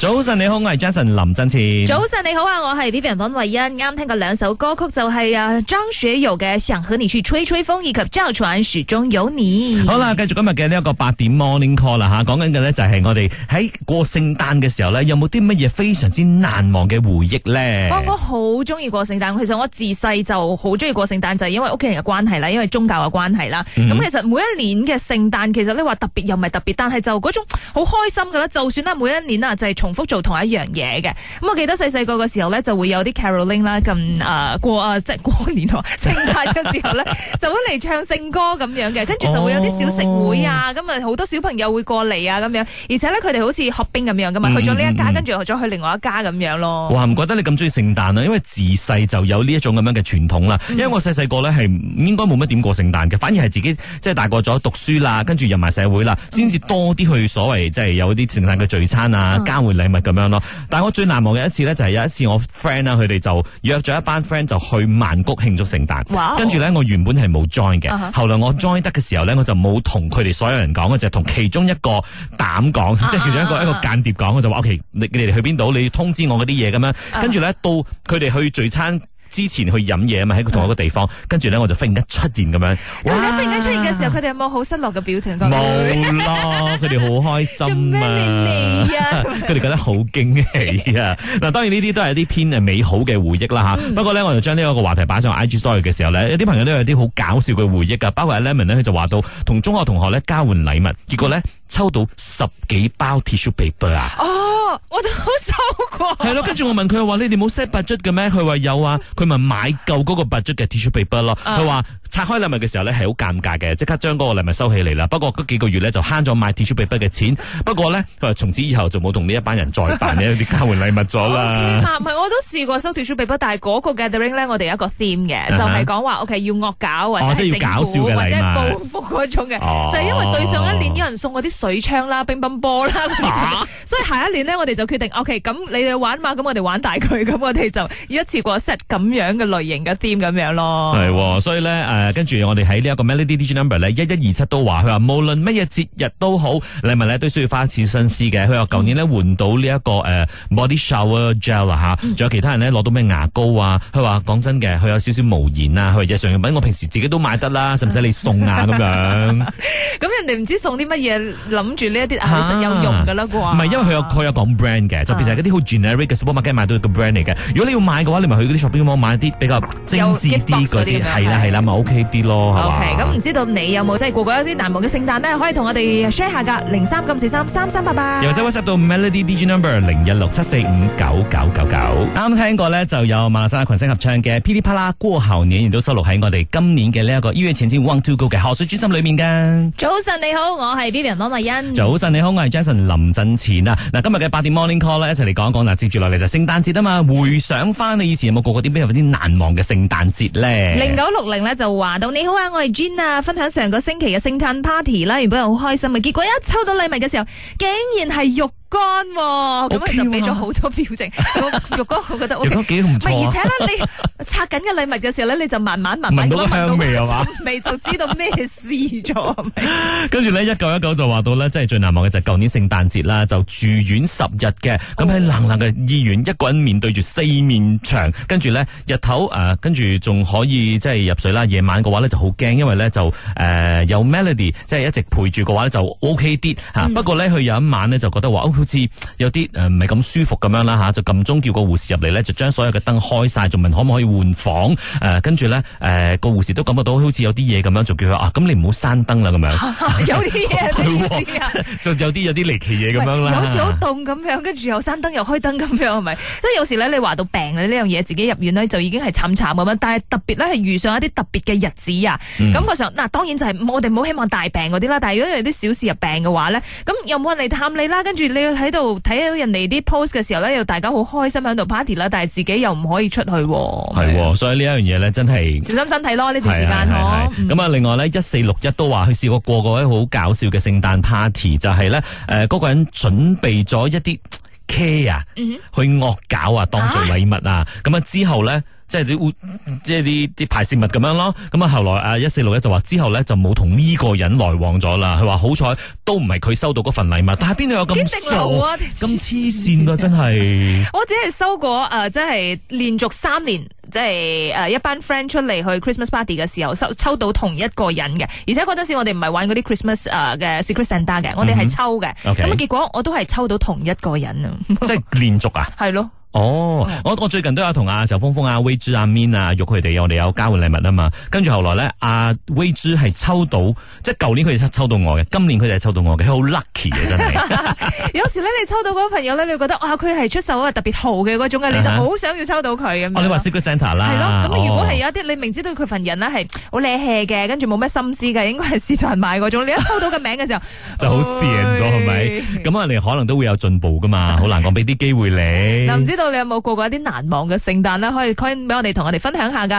早晨你好，我係 Jason 林振前。 早晨你好啊，我係 Vivian 溫慧欣。啱聽過兩首歌曲就係張學友嘅《想和你去吹吹風》以及趙傳始終有你。 好啦，繼續今日嘅呢一個8點 Morning Call 啦吓，講緊嘅咧就係我哋喺過聖誕嘅時候咧，有冇啲乜嘢非常之難忘嘅回憶咧？ 我好中意過聖誕，其實我自細就好中意過聖誕，就係因為屋企人嘅關係啦，因為宗教嘅關係啦。咁其實每一年嘅聖誕，其實你話特別又唔係特別，但係就嗰種好開心噶啦。就算啦，每一年啊就係重複做同一樣嘢嘅。咁我記得細個嘅時候咧，就會有啲 caroling 啦，即係過年聖誕嘅時候咧，就會嚟唱聖歌咁樣嘅，跟住就會有啲小食會啊，咁啊好多小朋友會過嚟啊咁樣，而且咧佢哋好似學兵咁樣噶嘛，去咗呢一家，跟住再去另外一家咁樣咯。哇， 唔覺得你咁中意聖誕啊？因為自細就有呢一種咁樣嘅傳統啦。因為我細個咧係應該冇乜點過聖誕嘅，反而係自己即係大個咗讀書啦，跟住入埋社會啦，先至多啲去所謂即係有啲聖誕嘅聚餐啊，交換禮物咁樣咯。但係我最難忘嘅一次咧，就係有一次我 friend 啦，佢哋就約咗一班 friend 就去曼谷慶祝聖誕。跟住咧我原本係冇 join 嘅，後來我 join 得嘅時候咧，我就冇同佢哋所有人講，我就同其中一個膽講，即係其中一個間諜講，我就話 OK， 你哋去邊度？你通知我嗰啲嘢咁樣。跟住咧到佢哋去聚餐之前去飲嘢啊嘛，喺同一個地方，跟住咧我就忽然間出現咁樣。 突然間出現嘅時候，佢哋有冇好失落嘅表情？ 冇咯，佢哋好開心啊！佢哋覺得好驚喜啊！嗱，當然呢啲都係一啲偏美好嘅回憶啦吓。不過咧，我就將呢一個話題擺上 IG Story 嘅時候咧，有啲朋友都有啲好搞笑嘅回憶噶，包括阿 Lemon 咧，佢就話到同中學同學咧交換禮物，結果咧抽到10幾包 tissue paper 啊！ 哦，我都收過。 係咯，跟住我問佢話：你哋冇 set budget 嘅咩？佢話有啊，佢咪買夠嗰個 budget 嘅 tissue paper 咯。佢話拆開禮物嘅時候咧係好尷尬嘅，即刻將嗰個禮物收起嚟啦。不過嗰幾個月咧就慳咗買 tissue paper 嘅錢。不過咧佢話從此以後就冇同呢一班人再辦呢一啲交換禮物咗啦。 唔係，我都試過收 tissue paper，但係嗰個 gathering 咧，我哋有一個 theme 嘅，就係講話 OK 要惡搞或者係要搞笑嘅禮物， 或者報復嗰種嘅，就係因為對上一年有人送嗰啲水槍啦、乒乓波啦，所以下一年咧我哋就決定 OK， 咁你哋玩嘛，咁我哋玩大佢，咁我哋就一次過 set 咁樣嘅類型嘅 theme 咁樣咯。 係，所以咧跟住我哋喺呢一個 Melody DJ Number 咧1127都話，佢話無論乜嘢節日都好，禮物咧都需要花一次心思嘅。佢話舊年咧換到呢一個body shower gel 啊吓，仲有其他人咧攞到咩牙膏啊。佢話講真嘅，佢有少少無言啊。佢話日常用品我平時自己都買得啦，使唔使你送啊咁樣？ 咁人哋唔知送啲乜嘢，諗住呢一啲係實有用噶啦啩？ 唔係，因為佢有講 brand 嘅，就變成嗰啲好 generic 嘅 supermarket 買到個 brand 嚟嘅。如果你要買嘅話，你咪去嗰啲 shopping mall 買啲比較精緻啲嗰啲，係啦，咪 OK 啲咯，係嘛 ？OK， 咁唔知道你有冇真係過過一啲難忘嘅聖誕呢？可以同我哋 share 下噶，03-943-3388， 又或者 WhatsApp 到 Melody DJ Number 0167459999。啱聽過咧，就有馬來西亞群星合唱嘅噼里啪啦過後年，亦都收錄喺我哋今年嘅呢一個1月前瞻 Want to Go 嘅賀歲專輯裏面噶。 早晨你好，我係 Vivian 溫慧欣。 早晨你好，我係 Jason 林振前啊！嗱，今日嘅8點 Morning Call 咧，一齊嚟講一講嗱，接住落嚟就聖誕節啊嘛，回想翻你以前有冇過過啲咩啲難忘嘅聖誕節咧 ？0960咧就話到你好啊，我係 Jean 啊，分享上個星期嘅聖誕 party 啦，原本好開心嘅，結果一抽到禮物嘅時候，竟然係肉乾喎，咁佢就俾咗好多表情。肉乾我覺得 OK， 肉乾幾唔錯。 而且咧，你拆緊嘅禮物嘅時候咧，你就慢慢聞到個香味係嘛？ 味就知道咩事咗。 跟住咧1919就話到咧，即係最難忘嘅就係舊年聖誕節啦，就住院10日嘅，咁喺冷冷嘅醫院，一個人面對住4面牆，跟住咧日頭跟住仲可以即係入睡啦，夜晚嘅話咧就好驚，因為咧就有 Melody 即係一直陪住嘅話咧就 OK 啲嚇。不過咧佢有一晚咧就覺得話好似有啲唔係咁舒服咁樣啦嚇，就撳鐘叫個護士入嚟咧，就將所有嘅燈開晒，仲問可唔可以換房跟住咧個護士都感覺到好似有啲嘢咁樣，就叫佢咁你唔好閂燈啦咁樣。 有啲嘢咩意思啊？ 就有啲離奇嘢咁樣啦， 好似好凍咁樣，跟住又閂燈又開燈咁樣係咪？即係有時咧，你話到病呢樣嘢，自己入院咧就已經係慘咁樣，但係特別咧係遇上一啲特別嘅日子啊，感覺上嗱當然就係我哋唔好希望大病嗰啲啦，但係如果有啲小事入病嘅話咧，咁又冇人嚟探你啦，跟住你喺度睇到人哋啲 post 嘅時候咧，又大家好開心喺度 party 啦，但係自己又唔可以出去。 係，所以呢一樣嘢咧真係小心身體咯，呢段時間嗬。咁啊，另外咧1461都話佢試過個位好搞笑嘅聖誕 party， 就係咧嗰個人準備咗一啲 care 去惡搞啊，當做禮物啊，咁之後咧。 即係啲排泄物咁樣咯。咁啊後來啊1461就話之後咧就冇同呢個人來往咗啦。佢話好彩都唔係佢收到嗰份禮物，但係邊度有咁傻咁黐線噶真係。 我只係收過即係連續3年。即係一班 friend 出嚟去 Christmas party 嘅時候，抽到同一個人嘅，而且嗰陣時我哋唔係玩嗰啲 Christmas 嘅 Secret Santa 嘅，我哋係抽嘅。咁啊結果我都係抽到同一個人啊！ 即係連續啊？ 係咯。 哦，我最近都有同阿仇峰峰、阿威之、阿 Min 啊，玉佢哋，我哋有交換禮物啊嘛。跟住後來咧，阿威之係抽到，即係舊年佢哋抽到我嘅，今年佢哋係抽到我嘅，佢好 lucky 嘅真係。 有時咧，你抽到嗰個朋友咧，你會覺得佢係出售特別豪嘅嗰種嘅，你就好想要抽到佢咁。 你話 Secret Santa 啦。 係咯，咁如果係有一啲你明知道佢份人咧係好叻氣嘅，跟住冇咩心思嘅，應該係是但買嗰種，你一抽到個名嘅時候， 就好跣咗係咪？咁啊，你可能都會有進步噶嘛，好難講，俾啲機會你。 嗱，唔知道你有冇過過一啲難忘嘅聖誕啦，可以俾我哋同我哋分享下噶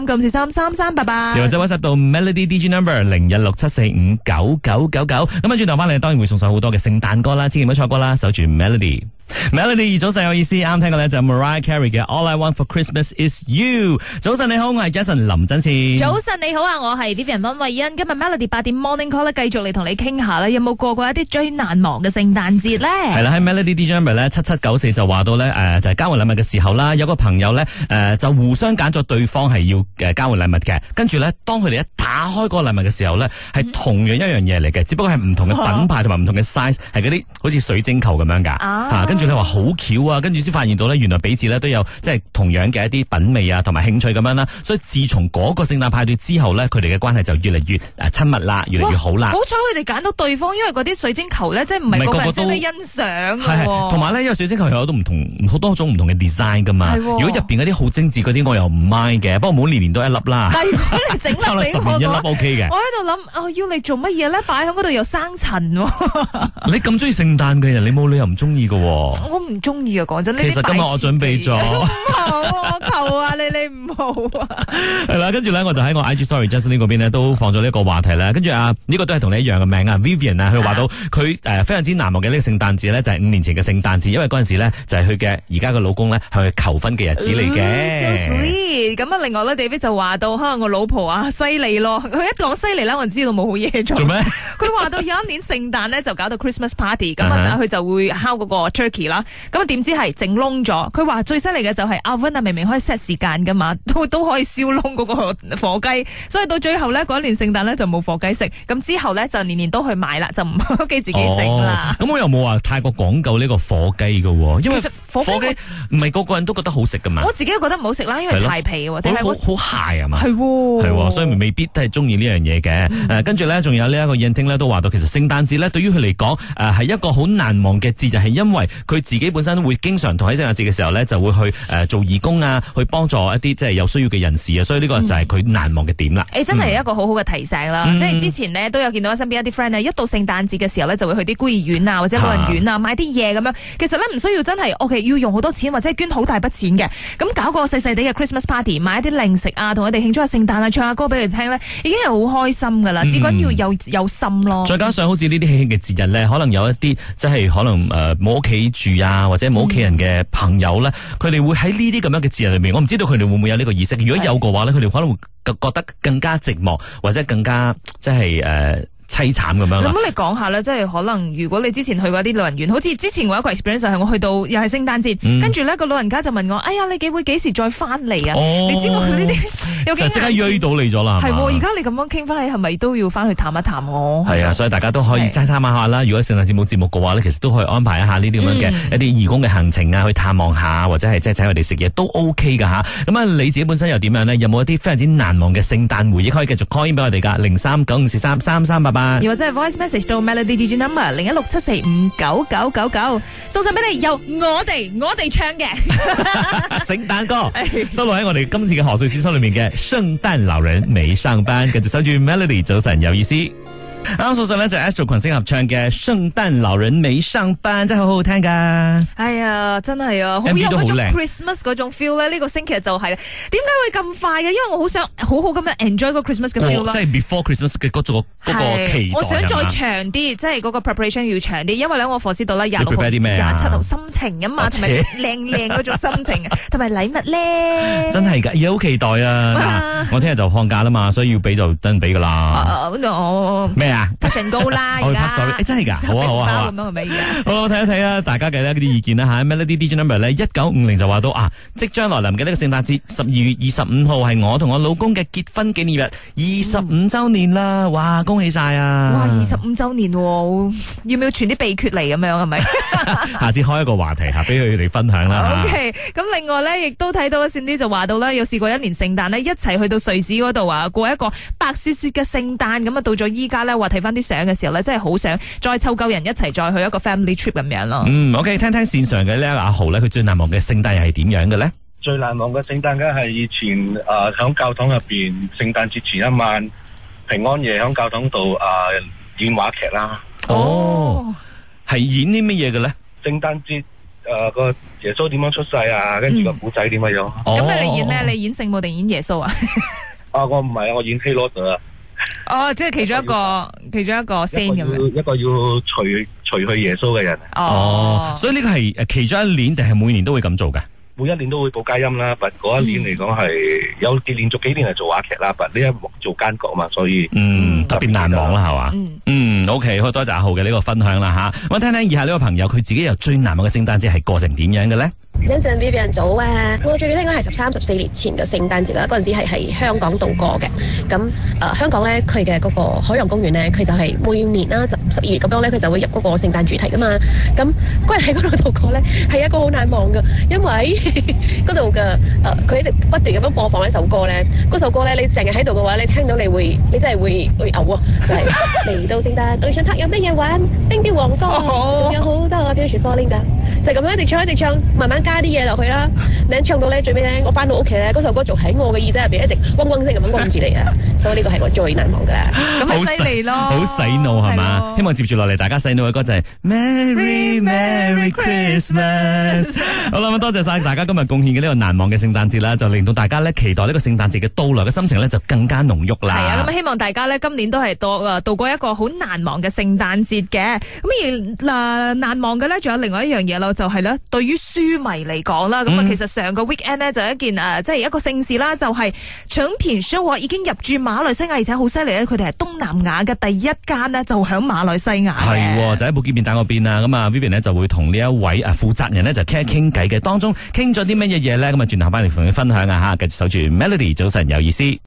，0394333388， 又或者 WhatsApp 到 Melody DJ Number 0167459999。咁啊，轉頭翻嚟當然會送上好多嘅聖誕歌啦，千祈唔好錯過啦，守住 Melody。Melody 早晨有意思，啱聽嘅咧就 Mariah Carey 嘅 All I Want for Christmas Is You。早晨你好，我係 Jason 林真前。 早晨你好啊，我係 Vivian 溫慧欣。今日 Melody 8點 Morning Call 咧，繼續嚟同你傾下啦，有冇過過一啲最難忘嘅聖誕節咧？係啦，喺 Melody DJ Number 咧7794就話到咧，就係交換禮物嘅時候啦，有個朋友咧就互相揀咗對方係要交換禮物嘅，跟住咧當佢哋一打開嗰個禮物嘅時候咧，係同樣一樣嘢嚟嘅，只不過係唔同嘅品牌同埋唔同嘅 size， 係嗰啲好似水晶球咁樣噶。跟住你話好巧啊，跟住先發現到咧，原來彼此咧都有即係同樣嘅一啲品味啊，同埋興趣咁樣啦。所以自從嗰個聖誕派對之後咧，佢哋嘅關係就越嚟越親密啦，越嚟越好啦。 好彩佢哋揀到對方，因為嗰啲水晶球咧，即係唔係個個人識得欣賞。 係，同埋咧，因為水晶球有好多種唔同嘅 design 噶嘛。如果入邊嗰啲好精緻嗰啲，我又唔 mind 嘅。不過唔好年年都一粒啦。但係如果你整粒俾我，10年一粒 OK 嘅。我喺度諗，要你做乜嘢咧？擺喺嗰度又生塵。 你咁中意聖誕嘅人，你冇理由唔中意噶。 我唔中意啊，講真。 其實今日我準備咗。唔好，我求啊你唔好啊。 係啦，跟住咧我就喺我 IG Story Justin 嗰邊咧都放咗呢一個話題啦。跟住呢個都係同你一樣嘅名啊 Vivian 啊，佢話到佢非常之難忘嘅呢個聖誕節咧，就係5年前嘅聖誕節，因為嗰陣時咧就係佢嘅而家嘅老公咧向佢求婚嘅日子嚟嘅。 So sweet。咁啊，另外咧 David 就話到，可能我老婆犀利咯。佢一講犀利咧，我就知道冇好嘢做。做咩？佢話到有一年聖誕咧就搞到 Christmas party， 咁啊佢就會烤嗰個 turkey 啦。咁啊點知係整燶咗。佢話最犀利嘅就係 oven 啊，明明可以 set 時間噶嘛，都可以燒燶嗰個火雞。所以到最後咧嗰一年聖誕咧就冇火雞食。咁之後咧就年年都去買啦，就唔屋企自己整啦。咁我又冇話太過講究呢個火雞噶，因為火雞唔係個個人都覺得好食噶嘛。 我自己都覺得唔好食啦，因為柴皮喎， 好鞋啊嘛。 係喎， 所以未必都係中意呢樣嘢嘅。跟住咧，仲有呢一個燕聽咧都話到，其實聖誕節咧對於佢嚟講，係一個好難忘嘅節日，係因為佢自己本身會經常同喺聖誕節嘅時候咧，就會去做義工啊，去幫助一啲即係有需要嘅人士啊，所以呢個就係佢難忘嘅點啦。 真係一個好好嘅提醒啦，即係之前呢，都有見到身邊一啲 friend 一到聖誕節嘅時候咧，就會去啲孤兒院啊或者老人院啊買啲嘢咁樣。其實咧唔需要真係 OK 要用好多錢或者捐好大筆錢嘅，咁搞個細細哋嘅 Christmas party， 買一啲零食啊，同佢哋慶祝下聖誕啊，唱下歌俾佢哋聽咧，已經係好開心噶啦。至緊要有心咯。再加上好似呢啲喜慶嘅節日咧，可能有一啲即係可能冇屋企住啊，或者冇屋企人嘅朋友咧，佢哋會喺呢啲咁樣嘅節日裏面，我唔知道佢哋會唔會有呢個意識。如果有嘅話咧，佢哋可能會覺得更加寂寞，或者更加即係凄慘咁樣啦。咁你講下咧，即係可能如果你之前去過啲老人院，好似之前我一個 experience 係我去到又係聖誕節，跟住呢個老人家就問我：哎呀，你會幾時再翻嚟啊？你知我呢啲有幾即刻約到你咗啦？係而家你咁樣傾翻起，係咪都要翻去探一探我？係啊，所以大家都可以參考下啦。如果聖誕節冇節目嘅話咧，其實都可以安排一下呢啲咁樣嘅一啲義工嘅行程啊，去探望下或者係即係請佢哋食嘢都 OK 噶吓。咁啊，你自己本身又點樣呢？有冇一啲非常之難忘嘅聖誕回憶可以繼續 call in 俾我哋噶？0395433388。又或者係 voice message 到 Melody DJ number 0167459999，送上俾你由我哋唱嘅聖誕歌，收錄喺我哋今次嘅賀歲之書裏面嘅聖誕老人未上班，繼續守住 Melody 早晨有意思。 啱啱送上咧就 Astro 群星合唱嘅《聖誕老人沒上班》，真係好好聽噶。 哎呀，真係啊，好有 MV 都好嗰種靚 Christmas 嗰種 feel 咧。呢個星期就係點解會咁快嘅？因為我好想好好咁樣 enjoy 個 Christmas 嘅 feel 啦。 即係 before Christmas 嘅嗰個期待。 我想再係嘛長啲，即係嗰個 preparation 要長啲，因為咧我課師到咧26號、 你 prepare 啲咩啊 27號心情啊嘛，同埋靚嗰種心情，同埋禮物咧。 真係噶，而家好期待啊！嗱，我聽日就放假啦嘛，所以要俾就等俾噶啦。咩啊？ 拍唇膏啦， 我而去拍 story， 家真係噶，好啊好啊好啊咁樣係咪而家？ 好，睇一睇啊，大家嘅呢啲意見啦吓。Melody DJ number 咧1950就話到啊，即將來臨嘅呢個聖誕節12月25號係我同我老公嘅結婚紀念日25周年啦！哇，恭喜晒啊！ 哇，25周年喎，要唔要傳啲秘訣嚟咁樣係咪？ 下次開一個話題吓，俾佢哋分享啦。 OK，咁另外咧，亦都睇到善啲就話到啦，有試過一年聖誕咧，一齊去到瑞士嗰度啊，過一個白雪雪嘅聖誕。咁啊，到咗依家咧，話睇翻啲相嘅時候咧，真係好想再湊夠人一齊再去一個 family trip 咁樣咯。 OK， 聽聽線上嘅呢阿豪咧，佢最難忘嘅聖誕又係點樣嘅咧？ 最難忘嘅聖誕梗係以前響教堂入邊，聖誕節前一晚平安夜響教堂度演話劇啦。 哦，係演啲乜嘢嘅咧？ 聖誕節個耶穌點樣出世啊，跟住個古仔點樣樣。 咁你演咩？你演聖母定演耶穌啊？ 我唔係啊，我演希羅德啊。 哦，即係其中一個 scene 咁樣。 一個要除去耶穌嘅人。 所以呢個係其中一年定係每年都會咁做㗎？ 每一年都會報佳音啦，但嗰一年嚟講係有連續幾年係做話劇啦，但呢一幕做奸角嘛，所以特別難忘啦，係嘛？OK， 好多謝阿豪嘅呢個分享啦吓。我聽聽以下呢個朋友佢自己又最難忘嘅聖誕節係過成點樣嘅咧？ 早晨 Vivian 早啊！我最記得應該係13、14年前嘅聖誕節啦，嗰陣時係喺香港度過嘅。咁香港咧，佢嘅嗰個海洋公園咧，佢就係每年啦12月咁樣咧，佢就會入嗰個聖誕主題噶嘛。咁嗰日喺嗰度度過咧，係一個好難忘嘅，因為嗰度嘅佢一直不斷咁樣播放一首歌咧。嗰首歌咧，你成日喺度嘅話，你聽到你真係會嘔啊！就係嚟到聖誕，我想睇有乜嘢玩，冰雕王國，仲有好多飄雪 falling 㗎。就咁樣一直唱，慢慢加啲嘢落去啦。你唱到咧最尾咧，我翻到屋企咧，嗰首歌仲喺我嘅耳仔入邊一直嗡嗡聲咁樣嗡住你啊！所以呢個係我最難忘噶。 咁咪犀利咯， 好洗腦係嘛？希望接住落嚟大家洗腦嘅歌就係 Merry Merry Christmas。好啦，咁多謝晒大家今日貢獻嘅呢個難忘嘅聖誕節啦，就令到大家咧期待呢個聖誕節嘅到來嘅心情咧就更加濃郁啦。 係啊，咁希望大家咧今年都係度過一個好難忘嘅聖誕節嘅。咁而難忘嘅咧，仲有另外一樣嘢咯。就係咧，對於書迷嚟講啦，咁其實上個 weekend 咧就一件即係一個盛事啦，就係誠品書畫已經入駐馬來西亞，而且好犀利咧，佢哋係東南亞嘅第一間呢，就響馬來西亞係，就喺布基便打嗰邊啊，咁啊 Vivian 呢就會同呢一位負責人呢就傾偈嘅，當中傾咗啲乜嘢嘢咧，咁啊轉頭翻嚟同你分享啊吓，繼續守住 Melody， 早晨有意思。